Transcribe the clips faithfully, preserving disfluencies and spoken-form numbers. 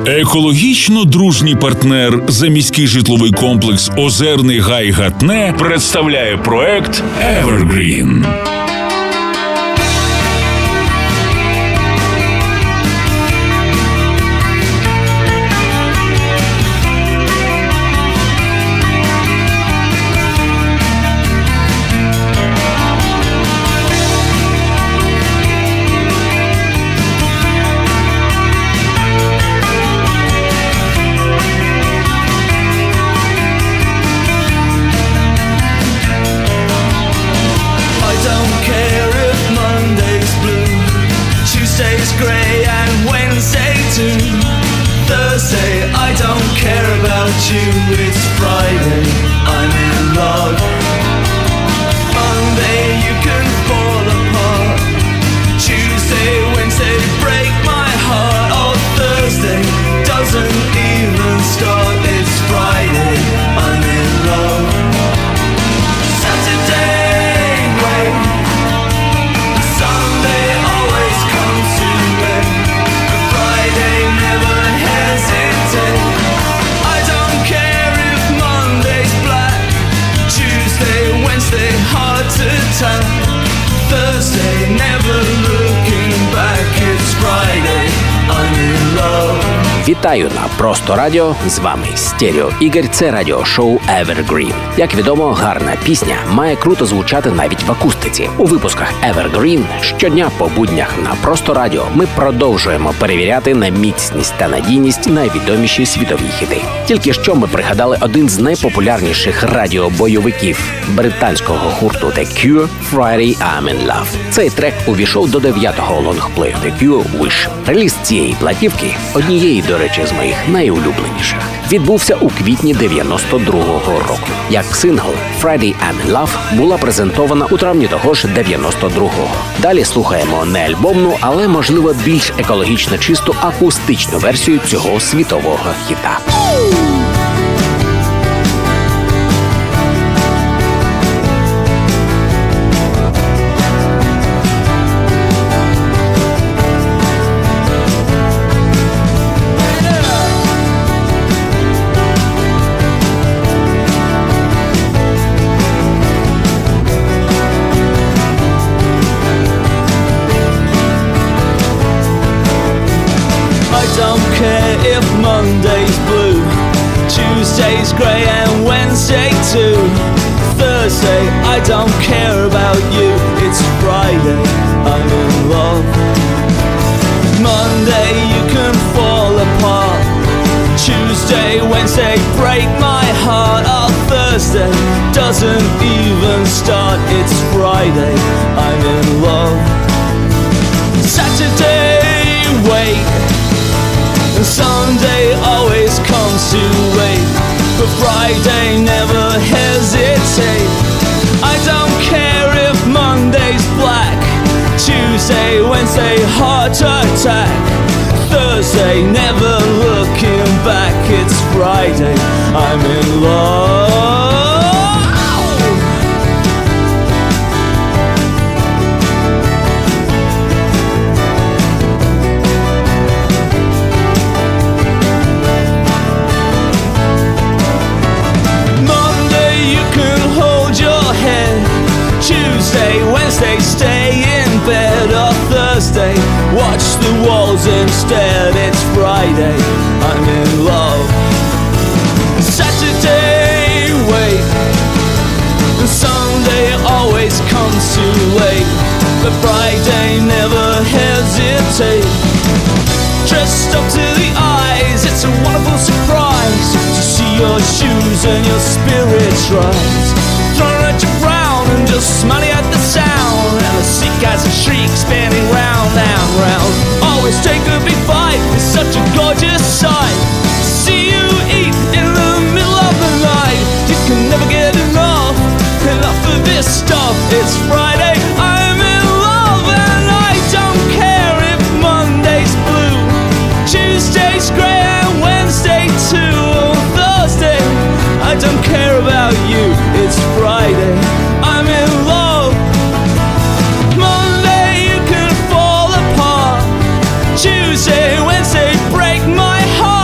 Екологічно дружній партнер заміський житловий комплекс «Озерний Гай Гатне» представляє проект «Evergreen». It's Friday, I'm in love. Monday you can fall apart. Tuesday, Wednesday break my heart. Oh, Thursday doesn't even start. It's Friday, I'm in love. Saturday, wait. Sunday always comes too late. But Friday never hesitates. Wednesday, hard to tell. Thursday, never looking back. It's Friday, I'm in love. Вітаю на Просто Радіо, з вами Стерео Ігор, це радіошоу Evergreen. Як відомо, гарна пісня має круто звучати навіть в акустиці. У випусках Evergreen щодня по буднях на Просто Радіо ми продовжуємо перевіряти на міцність та надійність найвідоміші світові хіти. Тільки що ми пригадали один з найпопулярніших радіобойовиків британського гурту The Cure «Friday, I'm in Love». Цей трек увійшов до дев'ятого лонгплею The Cure «Wish». Реліз цієї платівки, однієї, до речі, з моїх найулюбленіших, відбувся у квітні дев'яносто другого року. Як сингл «Friday, I'm in Love» була презентована у травні того ж дев'яносто другого. Далі слухаємо не альбомну, але, можливо, більш екологічно чисту акустичну версію цього світового хіта. If Monday's blue, Tuesday's grey and Wednesday too. Thursday, I don't care about you. It's Friday, I'm in love. Monday, you can fall apart. Tuesday, Wednesday, break my heart. Oh, Thursday doesn't even start. It's Friday, I'm in love. Saturday, wait. Sunday always comes too late, but Friday never hesitate. I don't care if Monday's black, Tuesday, Wednesday heart attack. Thursday never looking back. It's Friday, I'm in love. Tuesday, Wednesday, stay in bed. Or Thursday, watch the walls instead. It's Friday, I'm in love. Saturday, wait. Sunday always comes too late, but Friday never hesitate. Dressed up to the eyes, it's a wonderful surprise to see your shoes and your spirit rise. Thrown at your brown and just smiling at the sound, and the sick as a shriek spinning round and round. Always take a big bite, it's such a gorgeous sight. See you eat in the middle of the night. You can never get enough, enough of this stuff. It's Friday, I'm in love, and I don't care if Monday's blue, Tuesday's grey and Wednesday too. Thursday, I don't care about you. It's Friday, I'm in love. Monday you can fall apart. Tuesday, Wednesday break my heart.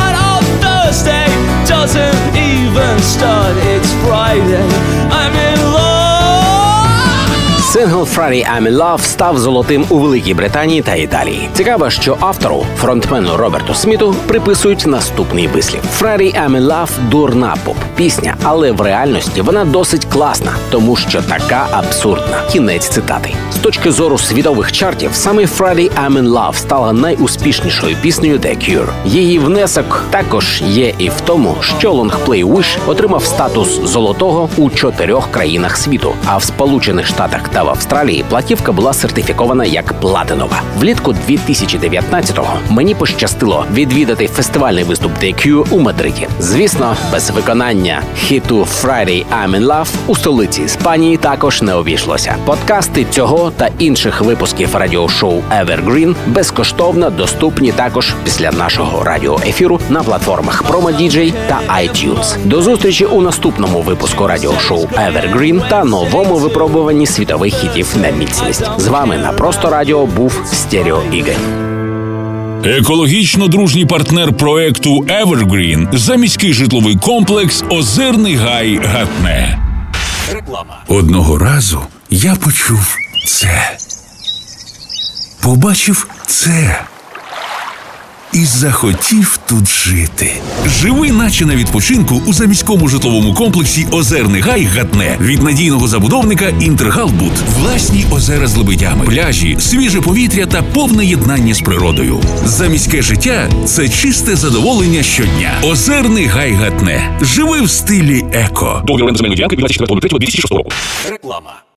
Сингл «Friday I'm in Love» став золотим у Великій Британії та Італії. Цікаво, що автору, фронтмену Роберту Сміту, приписують наступний вислів. «Friday I'm in Love» – дурна поп-пісня, але в реальності вона досить класна, тому що така абсурдна. Кінець цитати. З точки зору світових чартів, саме «Friday I'm in Love» стала найуспішнішою піснею The Cure. Її внесок також є і в тому, що лонгплей «Wish» отримав статус золотого у чотирьох країнах світу, а в Сполучених Штатах та в Австралії платівка була сертифікована як платинова. Влітку дві тисячі дев'ятнадцятого мені пощастило відвідати фестивальний виступ The Cure у Мадриді. Звісно, без виконання хіту «Friday I'm in Love» у столиці Іспанії також не обійшлося. Подкасти цього та інших випусків радіошоу Evergreen безкоштовно доступні також після нашого радіоефіру на платформах PromoDJ та iTunes. До зустрічі у наступному випуску радіошоу Evergreen та новому випробуванні світових хітів на міцність. З вами на Просто Радіо був Стерео Ігор. Екологічно дружній партнер проекту Evergreen – заміський житловий комплекс «Озерний гай Гатне». Реклама. Одного разу я почув це. Побачив це. І захотів тут жити. Живи наче на відпочинку у заміському житловому комплексі «Озерний гай Гатне» від надійного забудовника «Інтергалбуд». Власні озера з лебедями, пляжі, свіже повітря та повне єднання з природою. Заміське життя – це чисте задоволення щодня. «Озерний гай Гатне». Живи в стилі еко. Договір оренди земельної ділянки від двадцять четвертого лютого дві тисячі шостого року. Реклама.